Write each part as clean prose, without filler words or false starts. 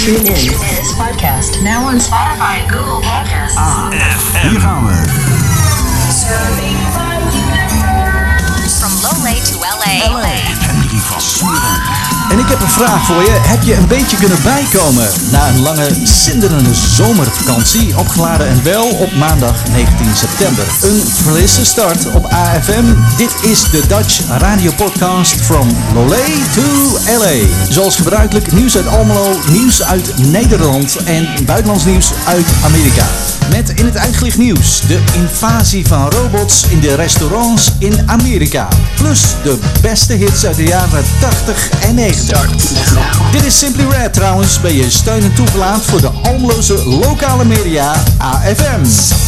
Tune in to this podcast now on Spotify and Google Podcasts. AFM. Hier gaan we. From Lolé to LA. Henry van Smuren. En ik heb een vraag voor je. Heb je een beetje kunnen bijkomen na een lange, zinderende zomervakantie? Opgeladen en wel op maandag 19 september. Een frisse start op AFM. Dit is de Dutch Radio Podcast From Lolé to LA. Zoals gebruikelijk nieuws uit Almelo, nieuws uit Nederland en buitenlands nieuws uit Amerika. Met in het uitgelicht nieuws de invasie van robots in de restaurants in Amerika. Plus de beste hits uit de jaren 80 en 90. Dit is Simply Red trouwens, bij je steun en toeverlaat voor de Almeloze lokale media AFM.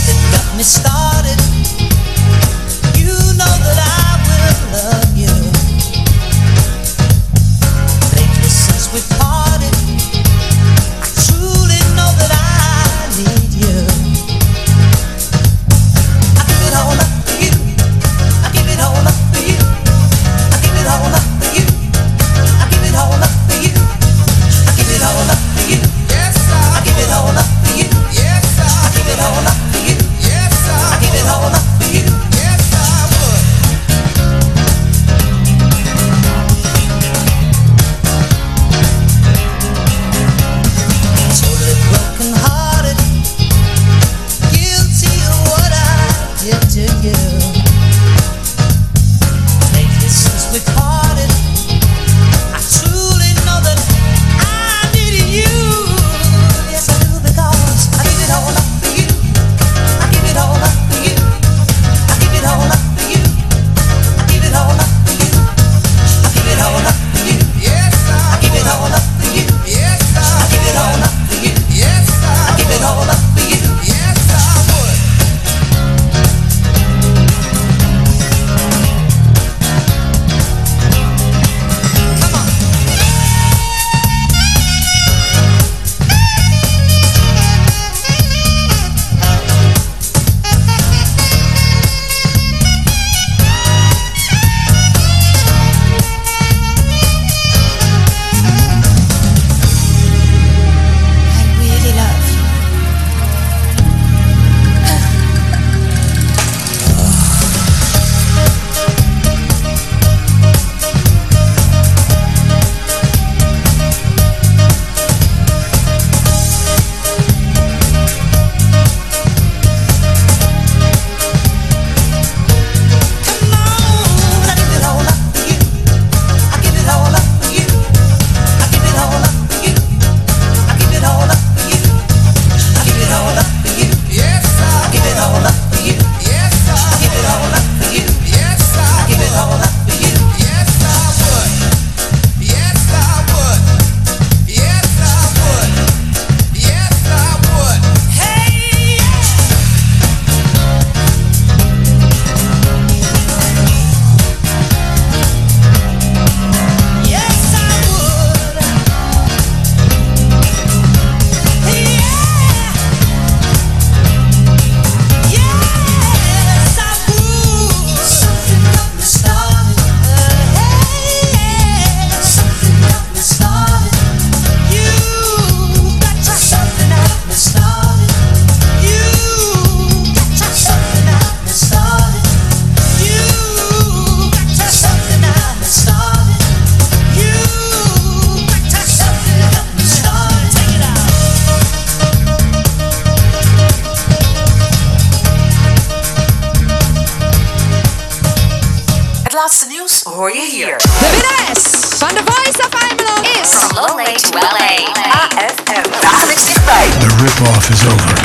laatste nieuws hoor je hier. De winnares van The Voice of Almelo is From Lolé to LA. AFM. Dagelijks dichtbij. The rip-off is over.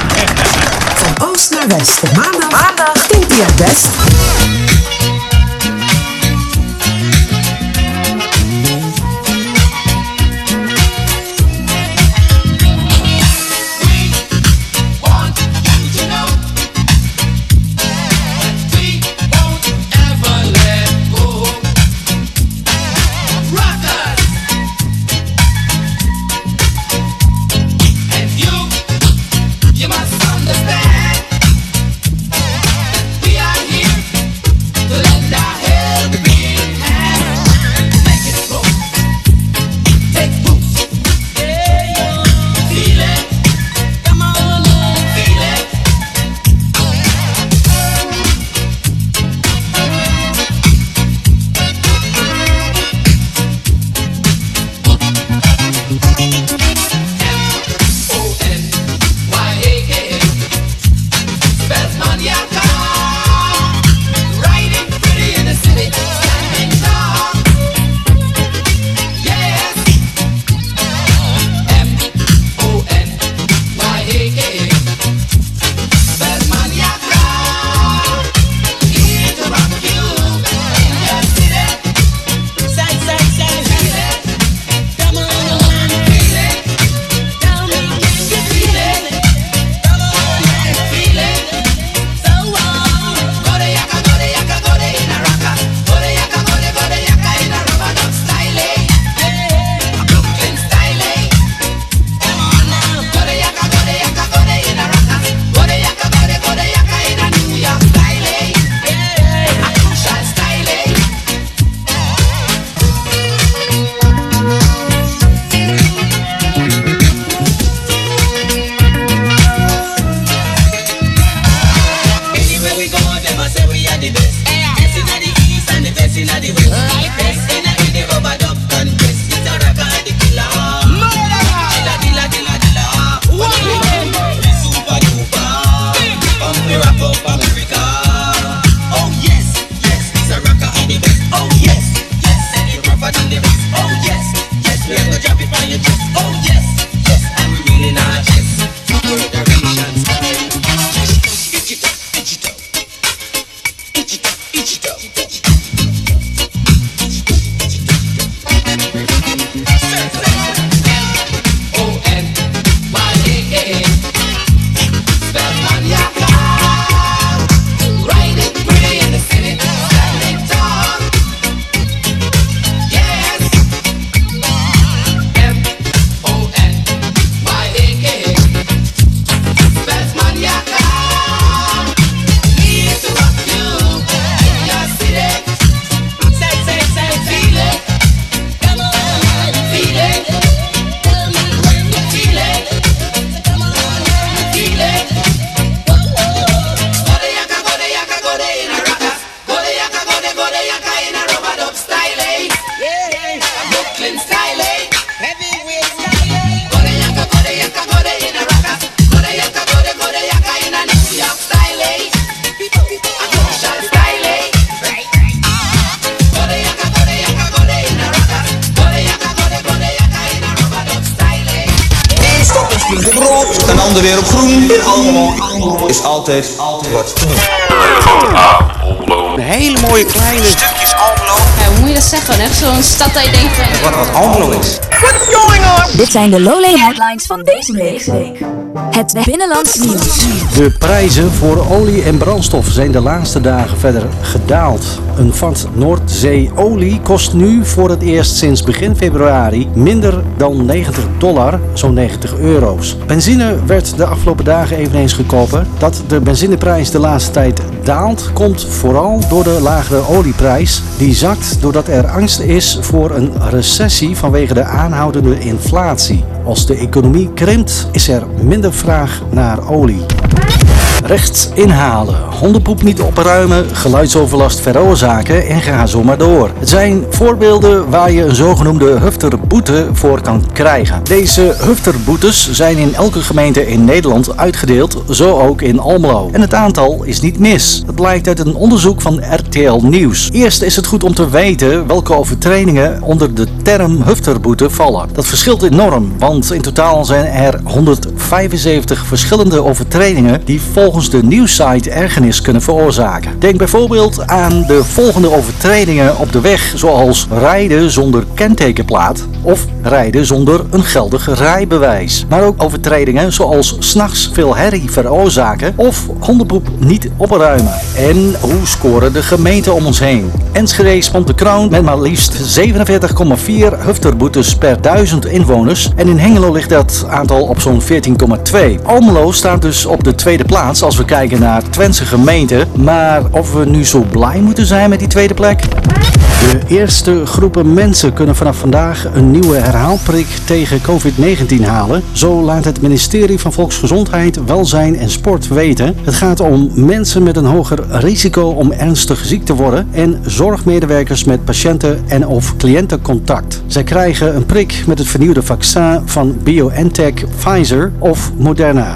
Van oost naar west. Op maandag klinkt hij het best. You must understand, we are here klinkt op rood, een ander weer op groen. In Almelo is altijd wat te doen. Een hele mooie kleine stukjes Almelo. Ja, hoe moet je dat zeggen? Echt zo'n stad dat je denkt van... Wat Almelo is. Dit zijn de Lowlay headlines van deze week. Het binnenlands nieuws. De prijzen voor olie en brandstof zijn de laatste dagen verder gedaald. Een vat Noordzeeolie kost nu voor het eerst sinds begin februari minder dan $90, zo'n €90. Benzine werd de afgelopen dagen eveneens goedkoper. Dat de benzineprijs de laatste tijd daalt, komt vooral door de lagere olieprijs. Die zakt doordat er angst is voor een recessie vanwege de aanhoudende inflatie. Als de economie krimpt, is er minder vraag naar olie. Rechts inhalen, hondenpoep niet opruimen, geluidsoverlast veroorzaken en ga zo maar door. Het zijn voorbeelden waar je een zogenoemde hufterboete voor kan krijgen. Deze hufterboetes zijn in elke gemeente in Nederland uitgedeeld, zo ook in Almelo. En het aantal is niet mis. Dat blijkt uit een onderzoek van RTL Nieuws. Eerst is het goed om te weten welke overtredingen onder de term hufterboete vallen. Dat verschilt enorm, want in totaal zijn er 175 verschillende overtredingen die volgens de nieuwssite ergernis kunnen veroorzaken. Denk bijvoorbeeld aan de volgende overtredingen op de weg, zoals rijden zonder kentekenplaat of rijden zonder een geldig rijbewijs. Maar ook overtredingen zoals 's nachts veel herrie veroorzaken of hondenpoep niet opruimen. En hoe scoren de gemeenten om ons heen? Enschede spant de kroon met maar liefst 47,4 hufterboetes per 1000 inwoners en in Hengelo ligt dat aantal op zo'n 14,2. Almelo staat dus op de tweede plaats als we kijken naar Twentse gemeenten, maar of we nu zo blij moeten zijn met die tweede plek? De eerste groepen mensen kunnen vanaf vandaag een nieuwe herhaalprik tegen COVID-19 halen. Zo laat het ministerie van Volksgezondheid, Welzijn en Sport weten. Het gaat om mensen met een hoger risico om ernstig ziek te worden en zorgmedewerkers met patiënten en of cliëntencontact. Zij krijgen een prik met het vernieuwde vaccin van BioNTech, Pfizer of Moderna.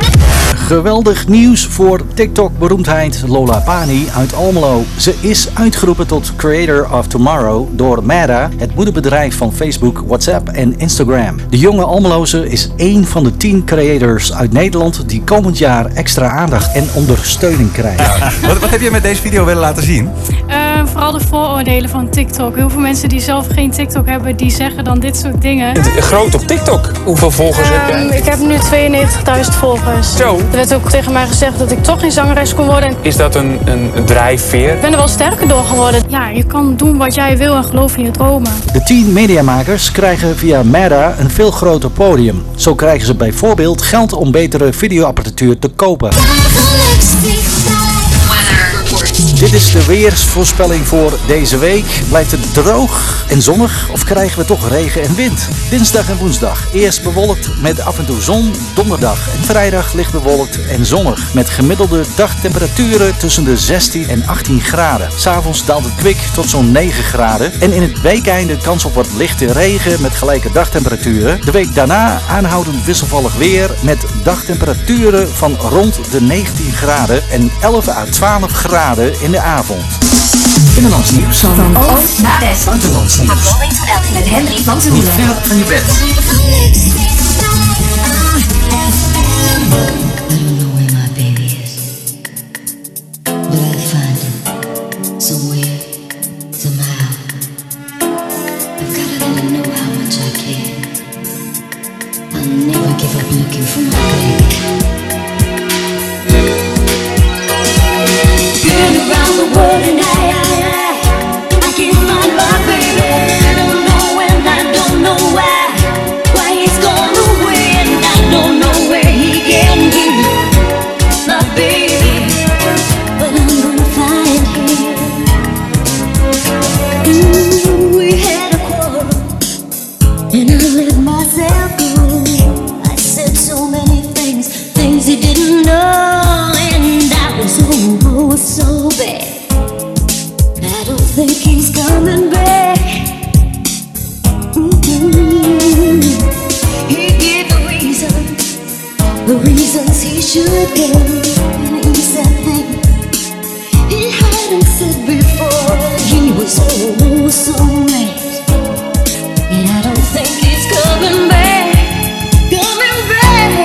Geweldig nieuws voor TikTok-beroemdheid Lola Pani uit Almelo. Ze is uitgeroepen tot Creator of Tomorrow door Meta, het moederbedrijf van Facebook, WhatsApp en Instagram. De jonge Almeloze is één van de 10 creators uit Nederland die komend jaar extra aandacht en ondersteuning krijgen. Wat heb je met deze video willen laten zien? Vooral de vooroordelen van TikTok. Heel veel mensen die zelf geen TikTok hebben, die zeggen dan dit soort dingen. Groot op TikTok. Hoeveel volgers heb jij? Ik heb nu 92.000 volgers. Zo. Er werd ook tegen mij gezegd dat ik toch geen zangeres kon worden. Is dat een drijfveer? Ik ben er wel sterker door geworden. Ja, je kan doen wat jij wil en geloof in je dromen. De 10 mediamakers krijgen via Meta een veel groter podium. Zo krijgen ze bijvoorbeeld geld om betere videoapparatuur te kopen. Dit is de weersvoorspelling voor deze week. Blijft het droog en zonnig of krijgen we toch regen en wind? Dinsdag en woensdag eerst bewolkt met af en toe zon. Donderdag en vrijdag licht bewolkt en zonnig. Met gemiddelde dagtemperaturen tussen de 16 en 18 graden. 's Avonds daalt het kwik tot zo'n 9 graden. En in het weekeinde kans op wat lichte regen met gelijke dagtemperaturen. De week daarna aanhoudend wisselvallig weer met dagtemperaturen van rond de 19 graden en 11 à 12 graden in de avond. Binnenlands nieuws Van oost naar west. buitenlands nieuws. Met Henry van Zwoelen. Niet ver van je bed. And I don't think he's coming back, coming back.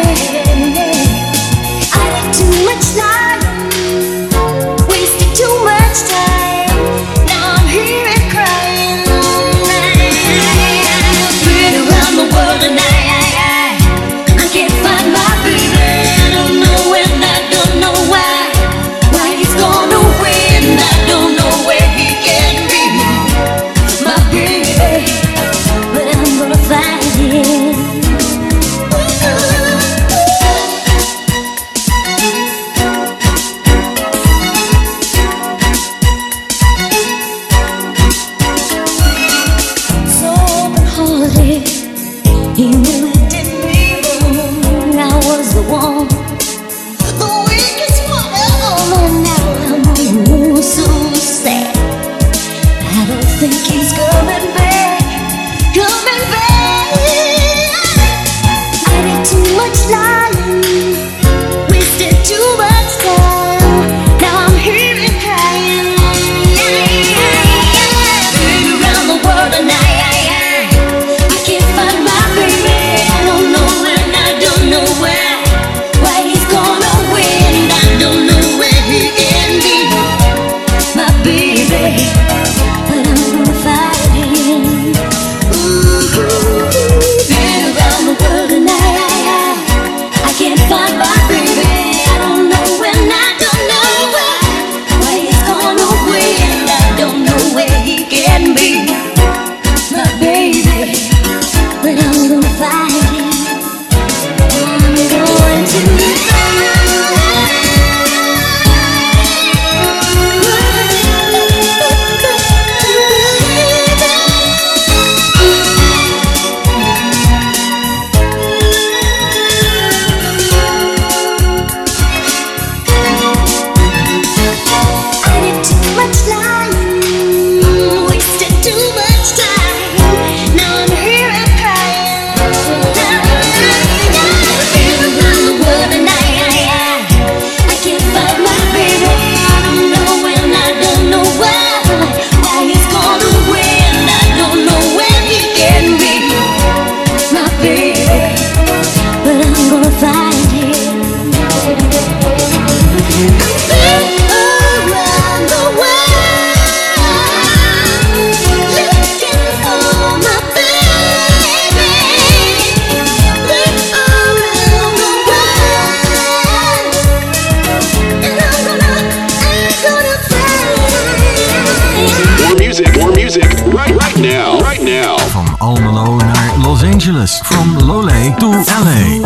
Almelo naar Los Angeles. From Lole to LA.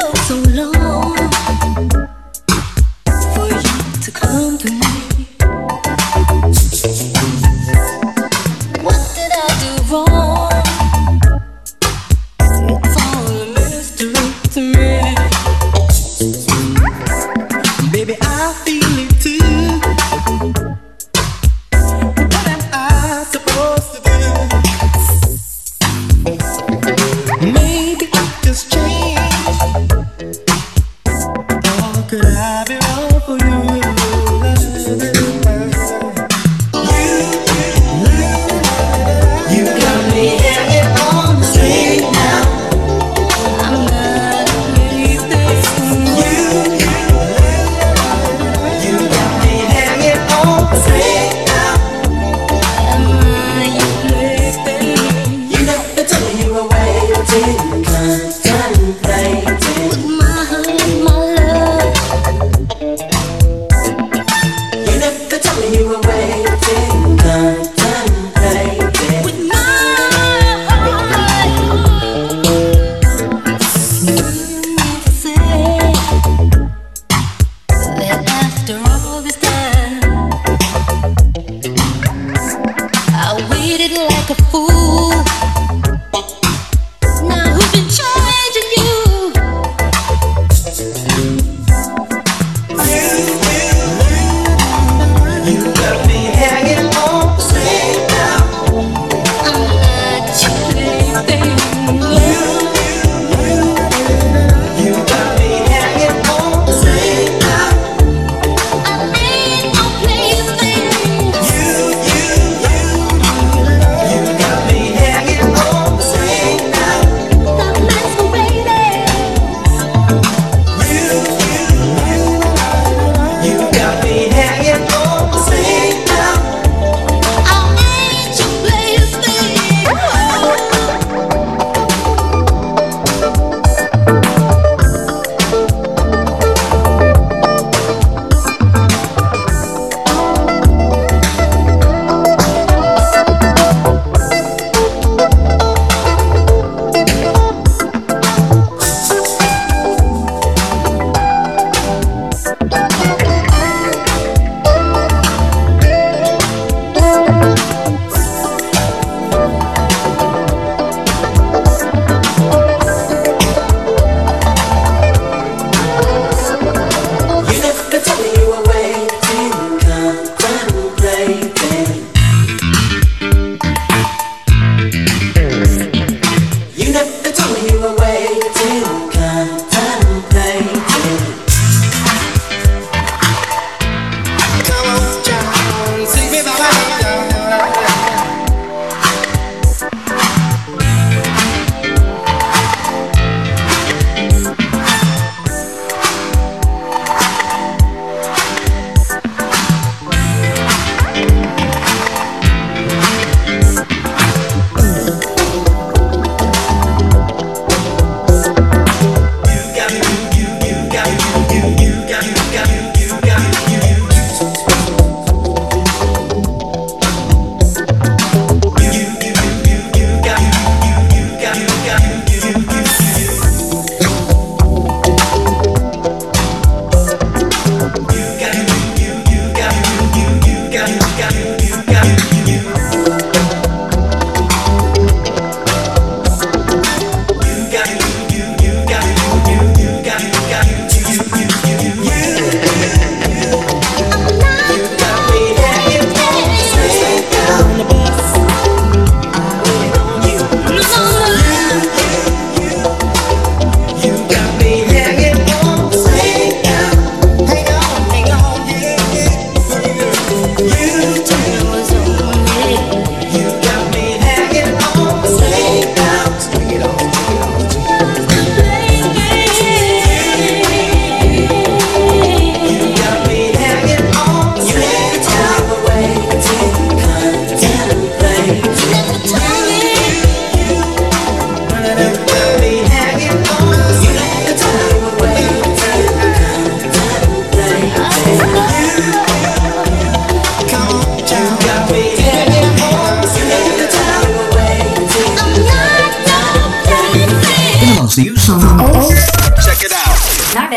Baby, I feel it too. What am I supposed to do? Maybe just change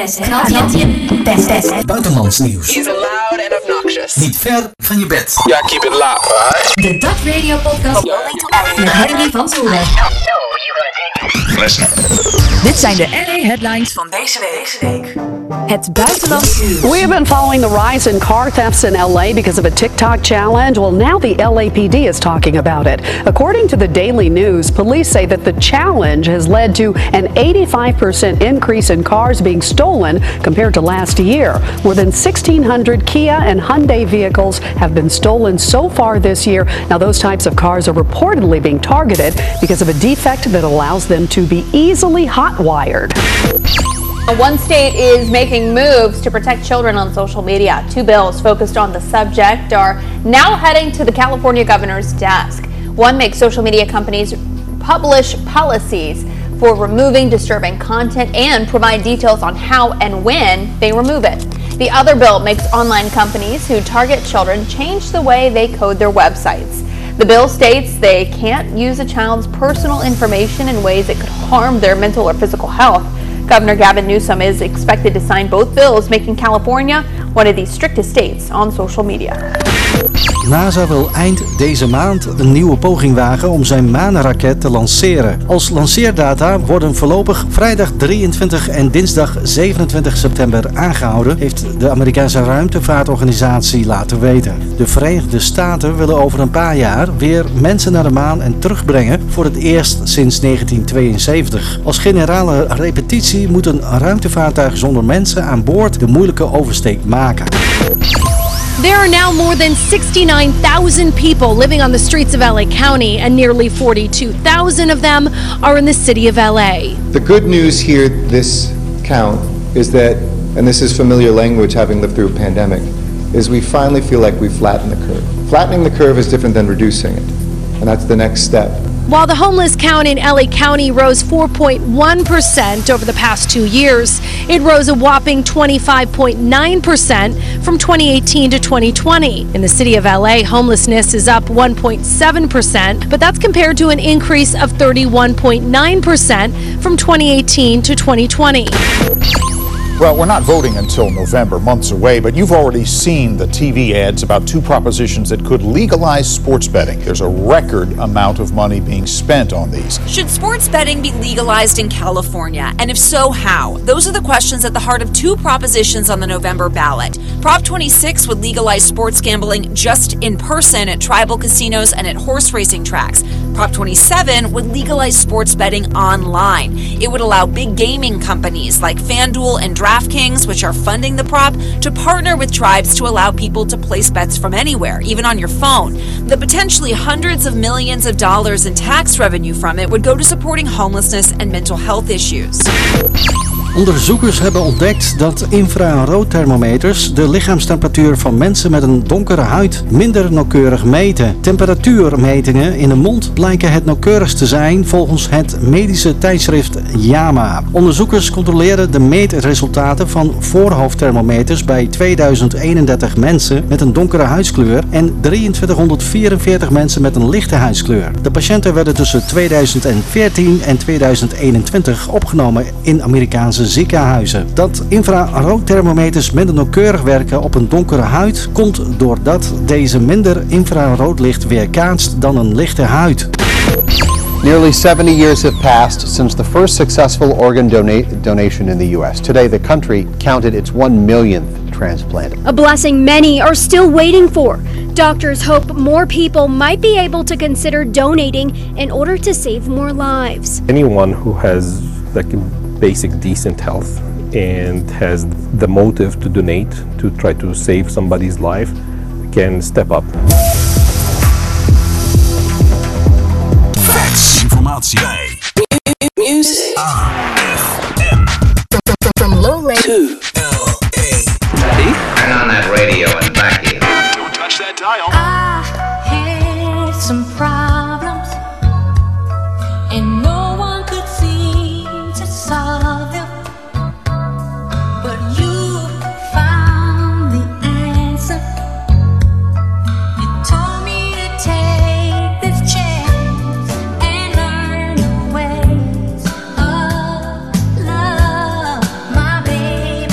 gaat je best. Buitenlands nieuws. He's loud and obnoxious. Niet ver van je bed. Ja, keep it loud. De Dat Radio Podcast met Henry van Zoelen. Listen. Dit zijn de LA headlines van deze week. Het buitenlands nieuws. We have been following the rise in car thefts in LA because of a TikTok challenge. Well, now the LAPD is talking about it. According to the Daily News, police say that the challenge has led to an 85% increase in cars being stolen compared to last year. More than 1,600 Kia and Hyundai vehicles have been stolen so far this year. Now, those types of cars are reportedly being targeted because of a defect that allows them to be easily hot-wired. One state is making moves to protect children on social media. 2 bills focused on the subject are now heading to the California governor's desk. One makes social media companies publish policies for removing disturbing content and provide details on how and when they remove it. The other bill makes online companies who target children change the way they code their websites. The bill states they can't use a child's personal information in ways that could harm their mental or physical health. Governor Gavin Newsom is expected to sign both bills, making California one of the strictest states on social media. NASA wil eind deze maand een nieuwe poging wagen om zijn maanraket te lanceren. Als lanceerdata worden voorlopig vrijdag 23 en dinsdag 27 september aangehouden, heeft de Amerikaanse ruimtevaartorganisatie laten weten. De Verenigde Staten willen over een paar jaar weer mensen naar de maan en terugbrengen, voor het eerst sinds 1972. Als generale repetitie moet een ruimtevaartuig zonder mensen aan boord de moeilijke oversteek maken. There are now more than 69,000 people living on the streets of LA County, and nearly 42,000 of them are in the city of LA. The good news here this count is that, and this is familiar language having lived through a pandemic, is we finally feel like we flattened the curve. Flattening the curve is different than reducing it, and that's the next step. While the homeless count in LA County rose 4.1% over the past 2 years, it rose a whopping 25.9% from 2018 to 2020. In the city of LA, homelessness is up 1.7%, but that's compared to an increase of 31.9% from 2018 to 2020. Well, we're not voting until November, months away, but you've already seen the TV ads about 2 propositions that could legalize sports betting. There's a record amount of money being spent on these. Should sports betting be legalized in California? And if so, how? Those are the questions at the heart of 2 propositions on the November ballot. Prop 26 would legalize sports gambling just in person at tribal casinos and at horse racing tracks. Prop 27 would legalize sports betting online. It would allow big gaming companies like FanDuel and DraftKings, which are funding the prop, to partner with tribes to allow people to place bets from anywhere, even on your phone. The potentially hundreds of millions of dollars in tax revenue from it would go to supporting homelessness and mental health issues. Onderzoekers hebben ontdekt dat infraroodthermometers de lichaamstemperatuur van mensen met een donkere huid minder nauwkeurig meten. Temperatuurmetingen in de mond blijken het nauwkeurigst te zijn volgens het medische tijdschrift JAMA. Onderzoekers controleerden de meetresultaten van voorhoofdthermometers bij 2031 mensen met een donkere huidskleur en 2344 mensen met een lichte huidskleur. De patiënten werden tussen 2014 en 2021 opgenomen in Amerikaanse ziekenhuizen. Dat infraroodthermometers minder nauwkeurig werken op een donkere huid komt doordat deze minder infraroodlicht weerkaatst dan een lichte huid. Nearly 70 years have passed since the first successful organ donation in the U.S. Today, the country counted its 1 millionth transplant. A blessing many are still waiting for. Doctors hope more people might be able to consider donating in order to save more lives. Anyone who has basic decent health and has the motive to donate to try to save somebody's life can step up. Facts. Informatie bij Music. From Lowland to LA. Turn on that radio and back it. Don't touch that dial. I had some problems and no one could seem to solve them, but you found the answer. You told me to take this chance and learn the ways of love, my baby.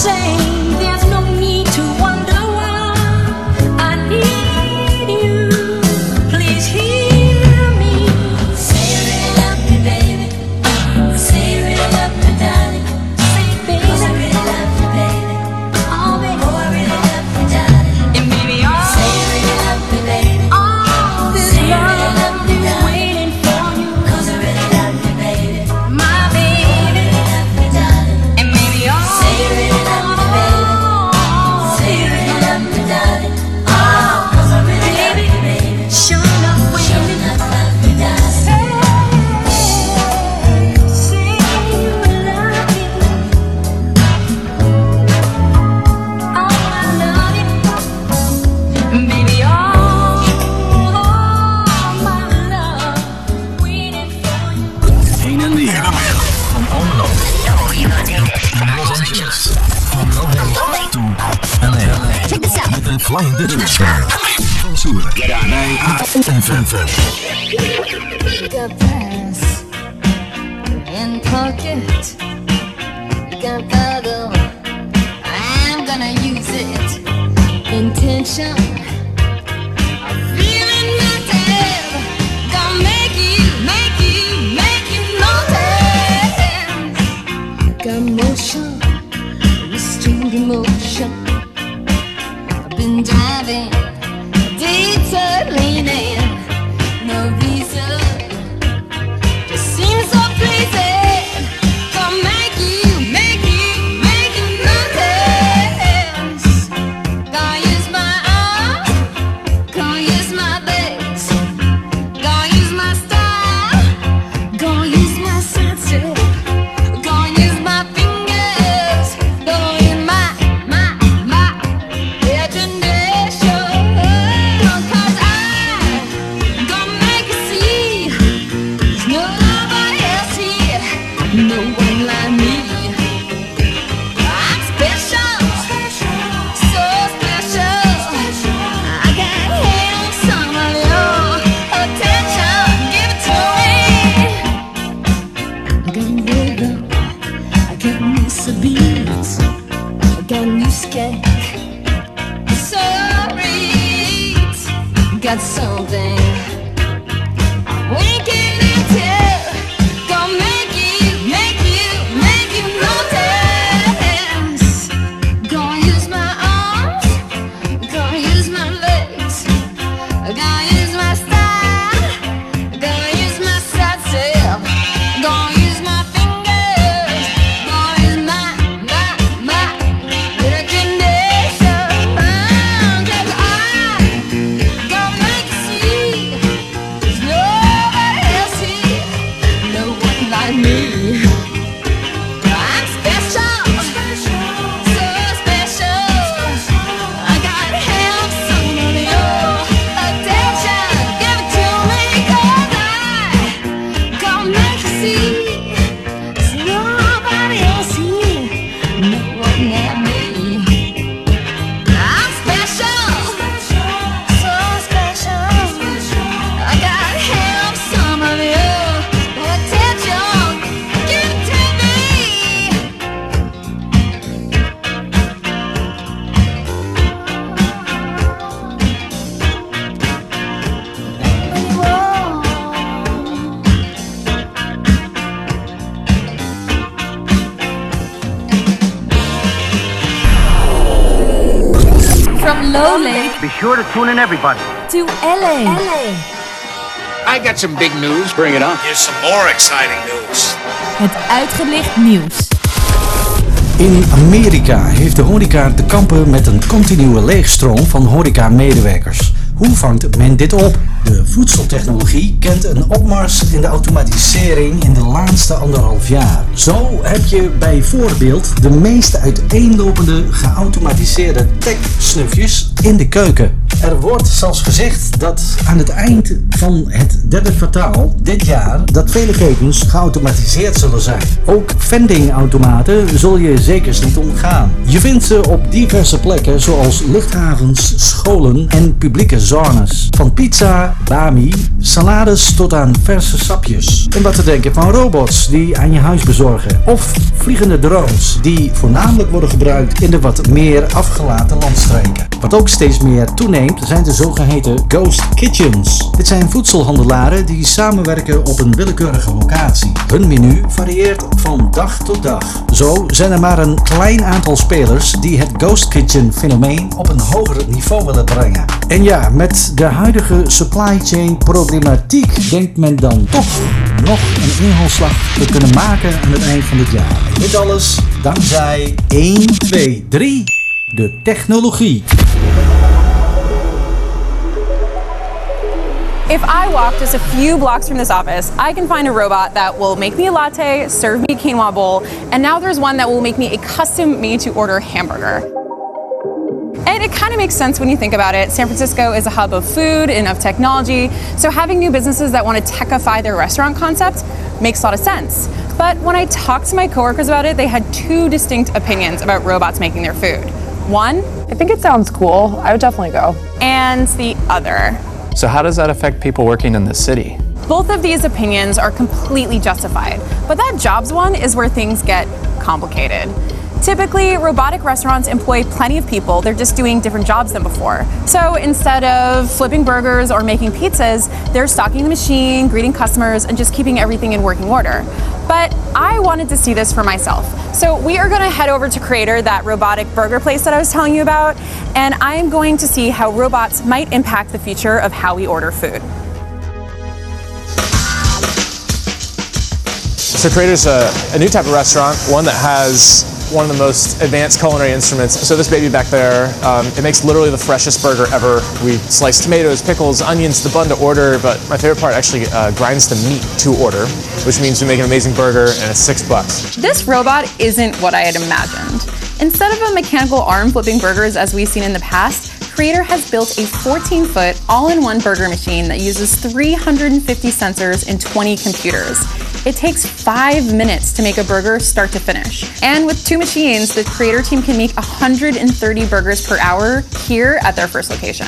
same. There's no need to wonder why. I need you. Please hear me. Say you really love me, baby. Say you really love me, darling. Say, baby, 'cause I really love you, baby. Oh, baby, oh, I really love you, darling. And baby, oh, say you really love me, baby. Oh, this say love you really love me, is waiting for you. 'Cause I really love you, baby. My baby, oh, I really love you, darling. And baby, oh, say you really love me, baby. Say you really love me, darling. Oh, 'cause I really love you, baby. Sure enough, when you love me, darling. Say you love me. Oh, I love you. Baby, oh, my love, waiting for you. Heen en weer. Van Almelo. Los Angeles. Van LA to LA. Met een Flying Dutchman. Van Soeren. Bij AFM. Got pass in pocket. Got paddle. I'm gonna use it. Intention. Feeling nothing. Gonna make you notice. Got motion. Restrained emotion. I've been driving. Detour leaning. No reason. Just seems so pleasing. Gonna make you notice. Gonna use my arm. Gonna use my legs. Gonna use my style. Gonna use my senses. Gonna use my fingers. Gonna use my imagination. 'Cause I'm gonna make you see there's nobody else here, no one like me. I'm special, so special. I got held some of your attention. Give it to me. I got rhythm, I got Mr. Beats, I got new skank. Sorry, got something. We can tell. Gonna make you notice. Gonna use my arms. Gonna use my legs. Gonna use my style. Gonna use my senses. Gonna use my fingers. Gonna use my imagination. 'Cause I'm gonna make you see there's nobody else here, no one like me. I'm special, so special. I got held some of your attention. Give it to me, 'cause I'm gonna make you see there's nobody else here, no one like me. I'm special, so special. I got held some of your attention. Give it to me. From Lowley Be sure to tune in, everybody. to LA. I got some big news. Bring it on. Here's some more exciting news. Het uitgelicht nieuws. In Amerika heeft de horeca te kampen met een continue leegstroom van horeca-medewerkers. Hoe vangt men dit op? De voedseltechnologie kent een opmars in de automatisering in de laatste 1,5 jaar. Zo heb je bijvoorbeeld de meest uiteenlopende geautomatiseerde tech-snufjes in de keuken. Er wordt zelfs gezegd dat aan het eind van het derde kwartaal dit jaar dat vele ketens geautomatiseerd zullen zijn. Ook vendingautomaten zul je zeker niet ontgaan. Je vindt ze op diverse plekken zoals luchthavens, scholen en publieke zones. Van pizza, bami, salades tot aan verse sapjes. En wat te denken van robots die aan je huis bezorgen. Of vliegende drones die voornamelijk worden gebruikt in de wat meer afgelaten landstreken. Wat ook steeds meer toeneemt zijn de zogeheten ghost kitchens. Dit zijn voedselhandelaren die samenwerken op een willekeurige locatie. Hun menu varieert van dag tot dag. Zo zijn er maar een klein aantal spelers die het ghost kitchen fenomeen op een hoger niveau willen brengen. En ja, met de huidige supply chain problematiek denkt men dan toch nog een inhaalslag te kunnen maken aan het eind van dit jaar. En dit alles dankzij 1, 2, 3, de technologie. If I walk just a few blocks from this office, I can find a robot that will make me a latte, serve me a quinoa bowl, and now there's one that will make me a custom made-to-order hamburger. And it kind of makes sense when you think about it. San Francisco is a hub of food and of technology, so having new businesses that want to techify their restaurant concept makes a lot of sense. But when I talked to my coworkers about it, they had two distinct opinions about robots making their food. One, I think it sounds cool. I would definitely go. And the other. So how does that affect people working in the city? Both of these opinions are completely justified, but that jobs one is where things get complicated. Typically, robotic restaurants employ plenty of people. They're just doing different jobs than before. So instead of flipping burgers or making pizzas, they're stocking the machine, greeting customers, and just keeping everything in working order. But I wanted to see this for myself. So we are going to head over to Creator, that robotic burger place that I was telling you about, and I am going to see how robots might impact the future of how we order food. So Creator's a new type of restaurant, one that has one of the most advanced culinary instruments. So this baby back there, it makes literally the freshest burger ever. We slice tomatoes, pickles, onions, the bun to order, but my favorite part actually grinds the meat to order, which means we make an amazing burger and it's $6. This robot isn't what I had imagined. Instead of a mechanical arm flipping burgers as we've seen in the past, Creator has built a 14-foot all-in-one burger machine that uses 350 sensors and 20 computers. It takes 5 minutes to make a burger start to finish. And with two machines, the Creator team can make 130 burgers per hour here at their first location.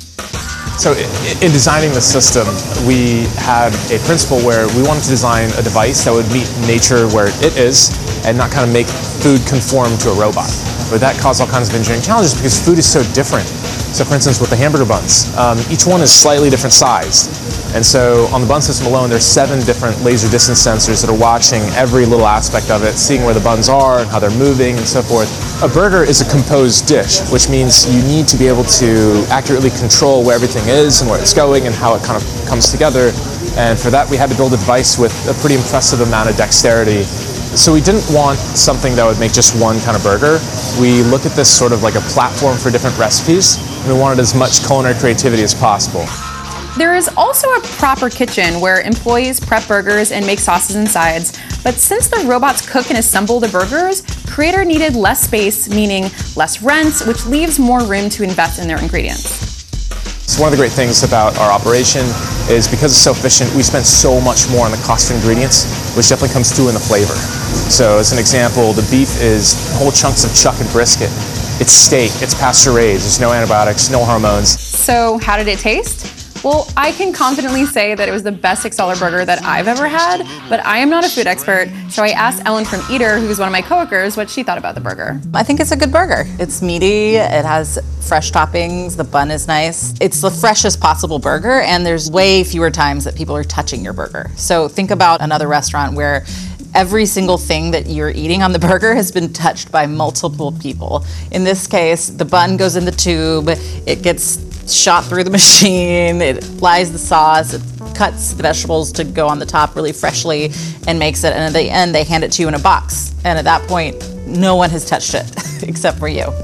So in designing the system, we had a principle where we wanted to design a device that would meet nature where it is and not kind of make food conform to a robot. But that caused all kinds of engineering challenges because food is so different. So for instance, with the hamburger buns, each one is slightly different sized. And so on the bun system alone, there's 7 different laser distance sensors that are watching every little aspect of it, seeing where the buns are and how they're moving and so forth. A burger is a composed dish, which means you need to be able to accurately control where everything is and where it's going and how it kind of comes together. And for that, we had to build a device with a pretty impressive amount of dexterity. So we didn't want something that would make just one kind of burger. We looked at this sort of like a platform for different recipes, and we wanted as much culinary creativity as possible. There is also a proper kitchen where employees prep burgers and make sauces and sides, but since the robots cook and assemble the burgers, Creator needed less space, meaning less rent, which leaves more room to invest in their ingredients. So one of the great things about our operation is because it's so efficient, we spend so much more on the cost of ingredients, which definitely comes through in the flavor. So as an example, the beef is whole chunks of chuck and brisket. It's steak, it's pasture raised, there's no antibiotics, no hormones. So how did it taste? Well, I can confidently say that it was the best $6 burger that I've ever had, but I am not a food expert, so I asked Ellen from Eater, who's one of my coworkers, what she thought about the burger. I think it's a good burger. It's meaty, it has fresh toppings, the bun is nice. It's the freshest possible burger, and there's way fewer times that people are touching your burger. So think about another restaurant where every single thing that you're eating on the burger has been touched by multiple people. In this case, the bun goes in the tube, it gets shot through the machine, it applies the sauce, it cuts the vegetables to go on the top really freshly and makes it, and at the end they hand it to you in a box. And at that point, no one has touched it except for you.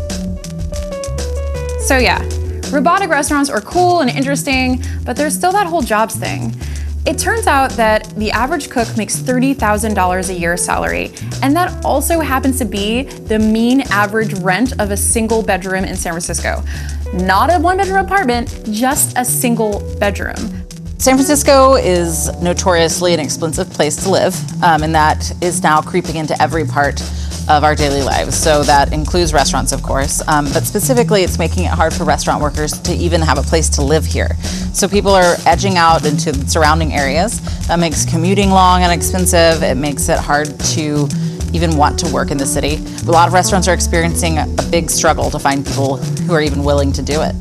So yeah, robotic restaurants are cool and interesting, but there's still that whole jobs thing. It turns out that the average cook makes $30,000 a year salary, and that also happens to be the mean average rent of a single bedroom in San Francisco. Not a one-bedroom apartment, just a single bedroom. San Francisco is notoriously an expensive place to live, and that is now creeping into every part of our daily lives. So that includes restaurants, of course, but specifically it's making it hard for restaurant workers to even have a place to live here. So people are edging out into surrounding areas. That makes commuting long and expensive. It makes it hard to even want to work in the city. A lot of restaurants are experiencing a big struggle to find people who are even willing to do it.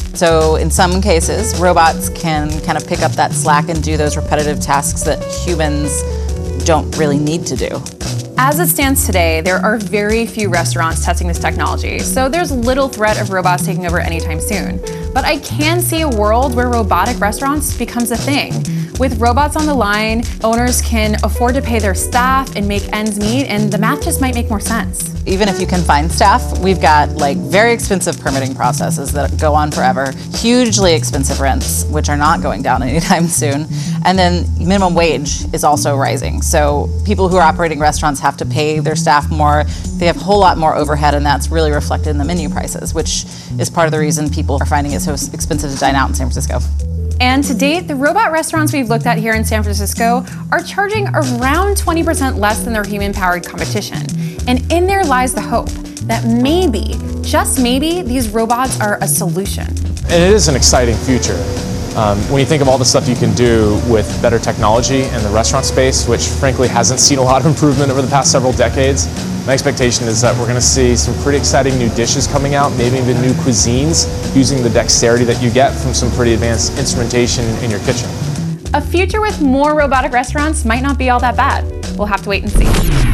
So in some cases, robots can kind of pick up that slack and do those repetitive tasks that humans don't really need to do. As it stands today, there are very few restaurants testing this technology, so there's little threat of robots taking over anytime soon. But I can see a world where robotic restaurants becomes a thing. With robots on the line, owners can afford to pay their staff and make ends meet, and the math just might make more sense. Even if you can find staff, we've got like very expensive permitting processes that go on forever, hugely expensive rents, which are not going down anytime soon. And then minimum wage is also rising. So people who are operating restaurants have to pay their staff more. They have a whole lot more overhead, and that's really reflected in the menu prices, which is part of the reason people are finding it so expensive to dine out in San Francisco. And to date, the robot restaurants we've looked at here in San Francisco are charging around 20% less than their human-powered competition. And in there lies the hope that maybe, just maybe, these robots are a solution. And it is an exciting future. When you think of all the stuff you can do with better technology in the restaurant space, which frankly hasn't seen a lot of improvement over the past several decades, my expectation is that we're going to see some pretty exciting new dishes coming out, maybe even new cuisines, using the dexterity that you get from some pretty advanced instrumentation in your kitchen. A future with more robotic restaurants might not be all that bad. We'll have to wait and see.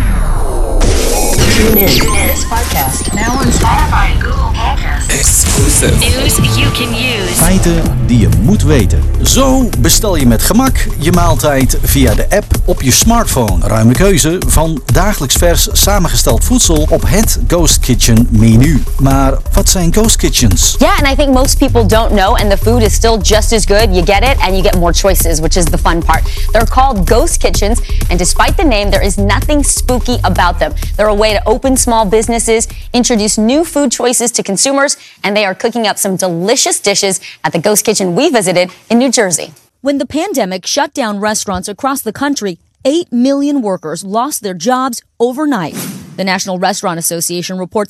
Tune in to this podcast now on Spotify and Google Podcasts. Exclusive. News you can use. Feiten die je moet weten. Zo bestel je met gemak je maaltijd via de app op je smartphone. Ruime keuze van dagelijks vers samengesteld voedsel op het Ghost Kitchen menu. Maar wat zijn Ghost Kitchens? Yeah, and I think most people don't know, and the food is still just as good. You get it, and you get more choices, which is the fun part. They're called Ghost Kitchens, and despite the name, there is nothing spooky about them. They're a way to open small businesses, introduce new food choices to consumers, and they are cooking up some delicious dishes at the Ghost Kitchen we visited in New Jersey. When the pandemic shut down restaurants across the country, 8 million workers lost their jobs overnight. The National Restaurant Association reports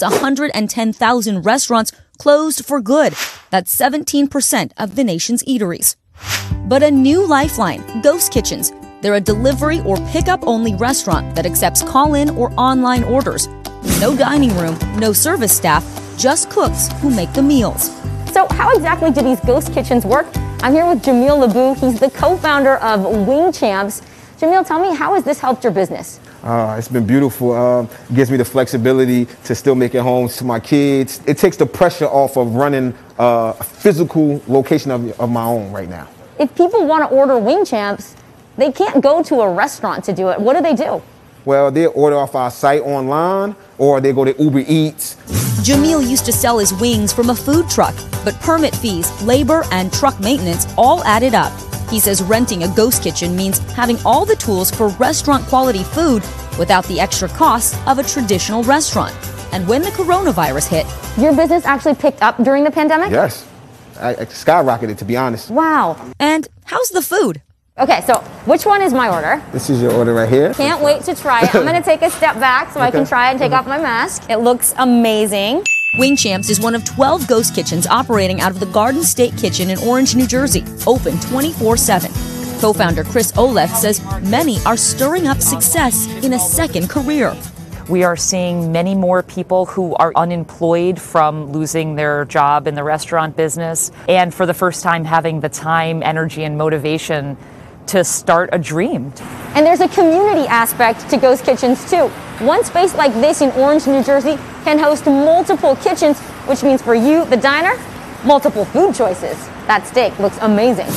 110,000 restaurants closed for good. That's 17% of the nation's eateries. But a new lifeline, Ghost Kitchens. They're a delivery or pickup-only restaurant that accepts call-in or online orders. No dining room, no service staff, just cooks who make the meals. So how exactly do these Ghost Kitchens work? I'm here with Jamil Labou. He's the co-founder of Wing Champs. Jamil, tell me, how has this helped your business? It's been beautiful. It gives me the flexibility to still make it home to my kids. It takes the pressure off of running a physical location of my own right now. If people want to order Wing Champs, they can't go to a restaurant to do it. What do? Well, they order off our site online, or they go to Uber Eats. Jamil used to sell his wings from a food truck, but permit fees, labor, and truck maintenance all added up. He says renting a Ghost Kitchen means having all the tools for restaurant-quality food without the extra costs of a traditional restaurant. And when the coronavirus hit... Your business actually picked up during the pandemic? Yes. I skyrocketed, to be honest. Wow. And how's the food? Okay, so which one is my order? This is your order right here. Can't wait to try it. I'm going to take a step back so I can try it and take off my mask. It looks amazing. Wing Champs is one of 12 Ghost Kitchens operating out of the Garden State Kitchen in Orange, New Jersey, open 24/7. Co-founder Chris Olef says many are stirring up success in a second career. We are seeing many more people who are unemployed from losing their job in the restaurant business, and for the first time having the time, energy, and motivation to start a dream. And there's a community aspect to Ghost Kitchens too. One space like this in Orange, New Jersey can host multiple kitchens, which means for you, the diner, multiple food choices. That steak looks amazing.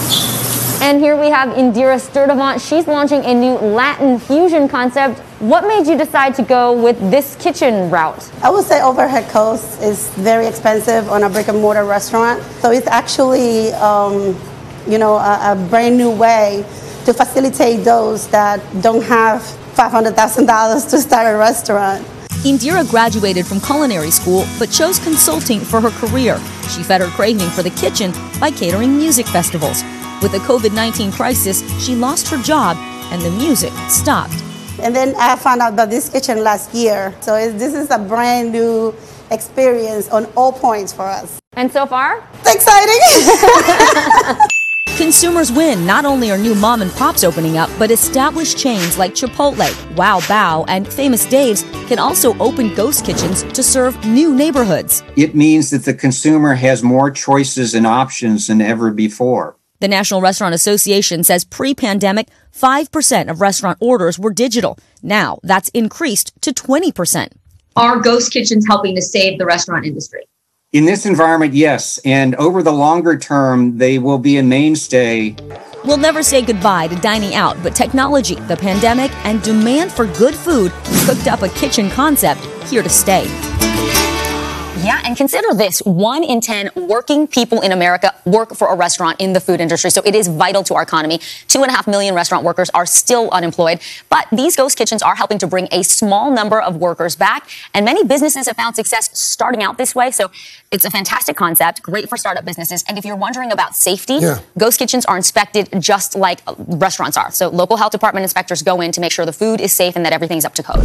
And here we have Indira Sturdivant. She's launching a new Latin fusion concept. What made you decide to go with this kitchen route? I would say overhead cost is very expensive on a brick and mortar restaurant. So it's actually a brand new way to facilitate those that don't have $500,000 to start a restaurant. Indira graduated from culinary school but chose consulting for her career. She fed her craving for the kitchen by catering music festivals. With the COVID-19 crisis, she lost her job and the music stopped. And then I found out about this kitchen last year. So this is a brand new experience on all points for us. And so far? Exciting! Consumers win. Not only are new mom and pops opening up, but established chains like Chipotle, Wow Bao, and Famous Dave's can also open ghost kitchens to serve new neighborhoods. It means that the consumer has more choices and options than ever before. The National Restaurant Association says pre-pandemic, 5% of restaurant orders were digital. Now that's increased to 20%. Are ghost kitchens helping to save the restaurant industry? In this environment, yes. And over the longer term, they will be a mainstay. We'll never say goodbye to dining out, but technology, the pandemic, and demand for good food cooked up a kitchen concept here to stay. Yeah, and consider this. 1 in 10 working people in America work for a restaurant in the food industry. So it is vital to our economy. 2.5 million restaurant workers are still unemployed. But these ghost kitchens are helping to bring a small number of workers back. And many businesses have found success starting out this way. So it's a fantastic concept, great for startup businesses. And if you're wondering about safety, ghost kitchens are inspected just like restaurants are. So local health department inspectors go in to make sure the food is safe and that everything's up to code.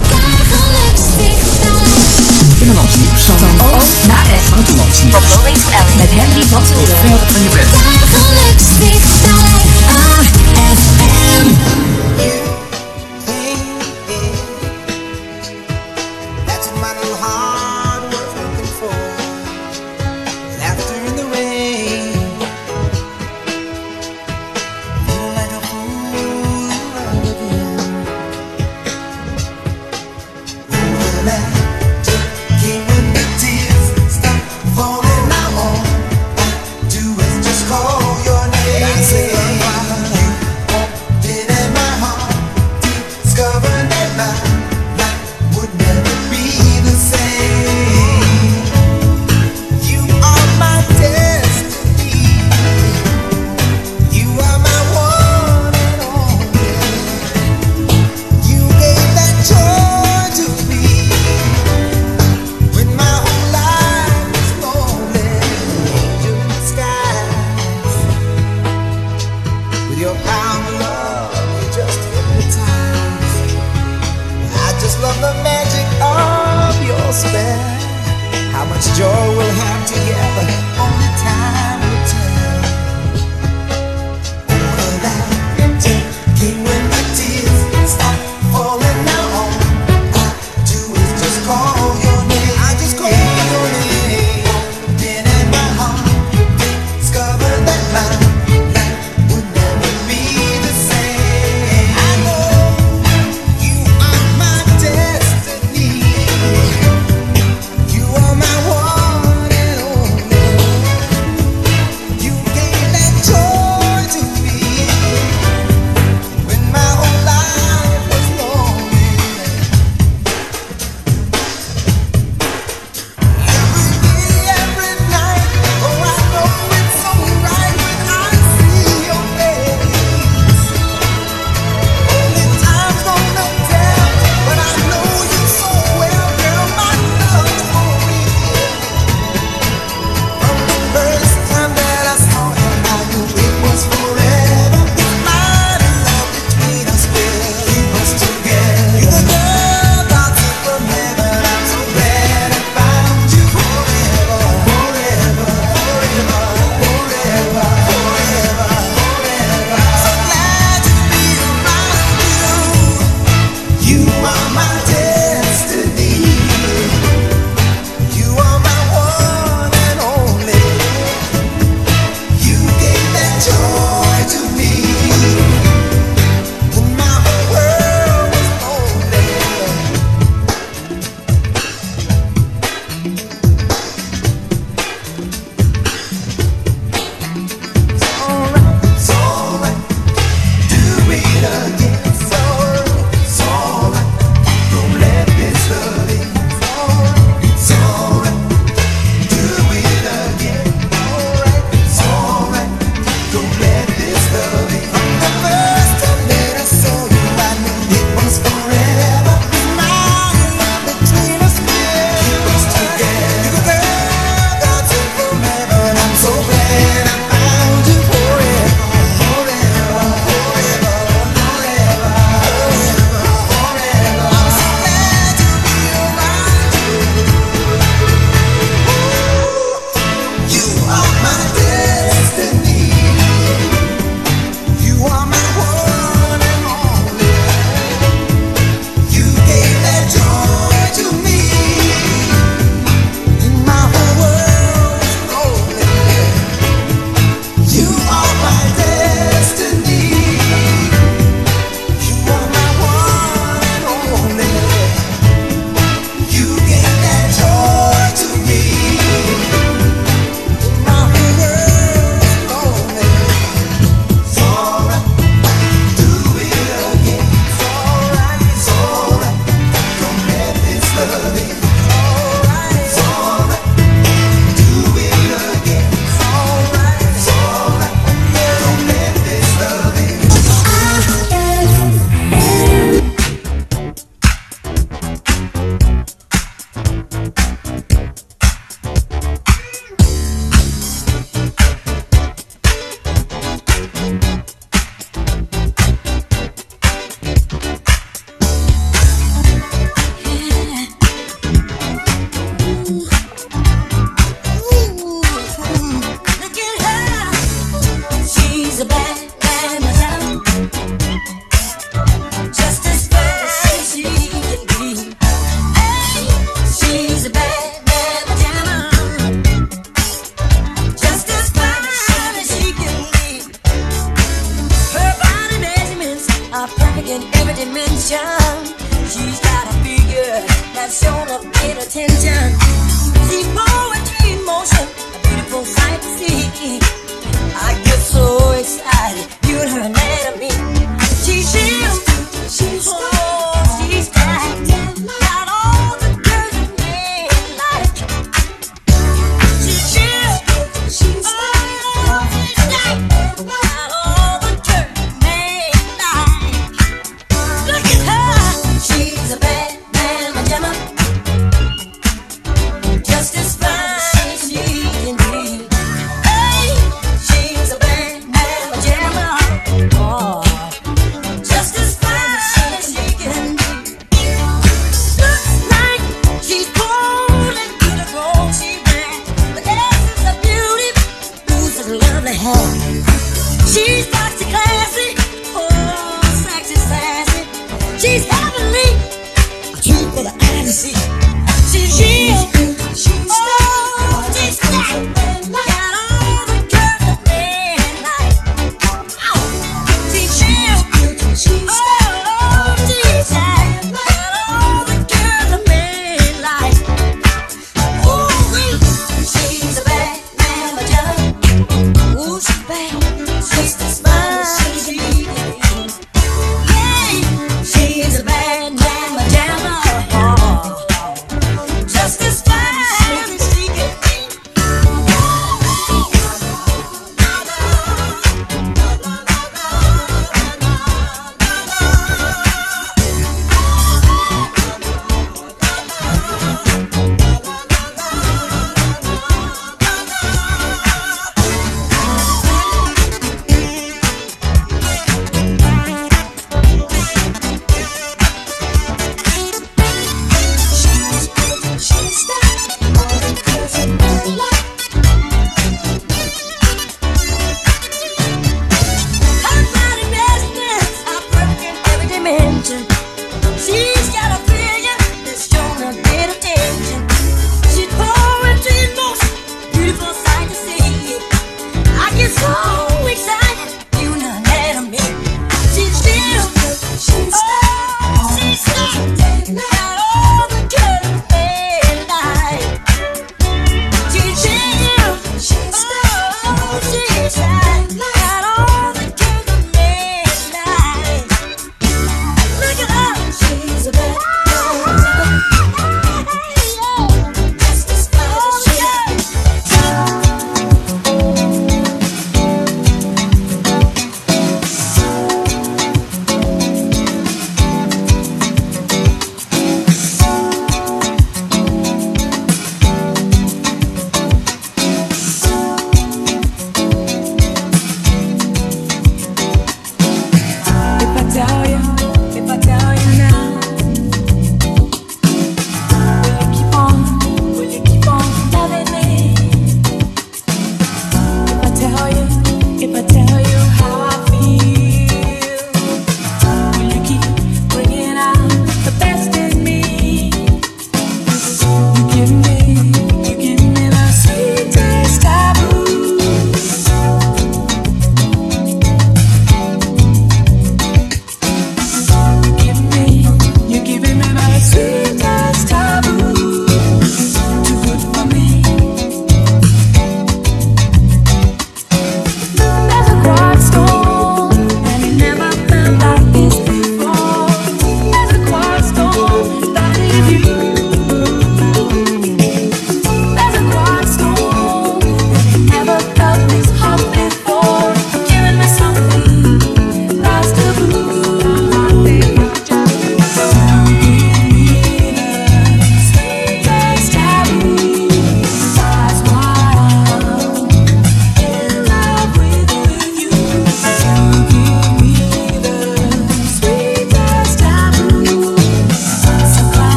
Binnenlands nieuws van Oost naar West. Buitenlands nieuws. Van Lowlands to Ellie. Met Henry van Zullen. Verder van je bed. That's my little heart was looking for. Laughter in the rain. Feeling like a fool again. Call your name.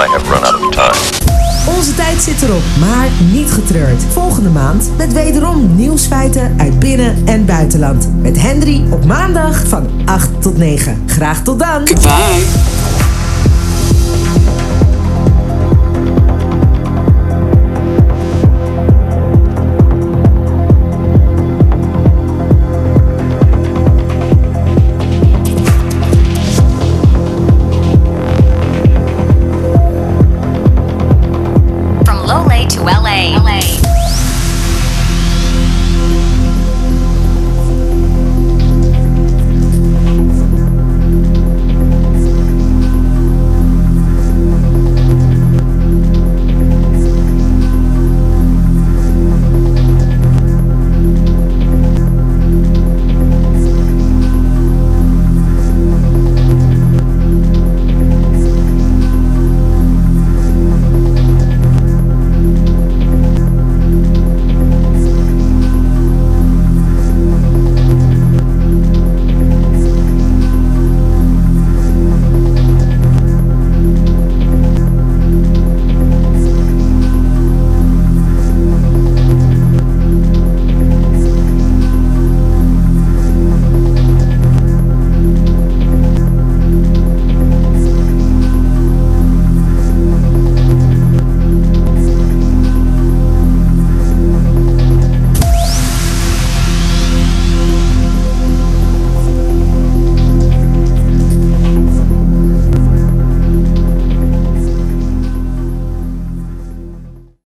have run out of time. Onze tijd zit erop, maar niet getreurd. Volgende maand met wederom nieuwsfeiten uit binnen- en buitenland. Met Henry op maandag van 8 tot 9. Graag tot dan. Goodbye.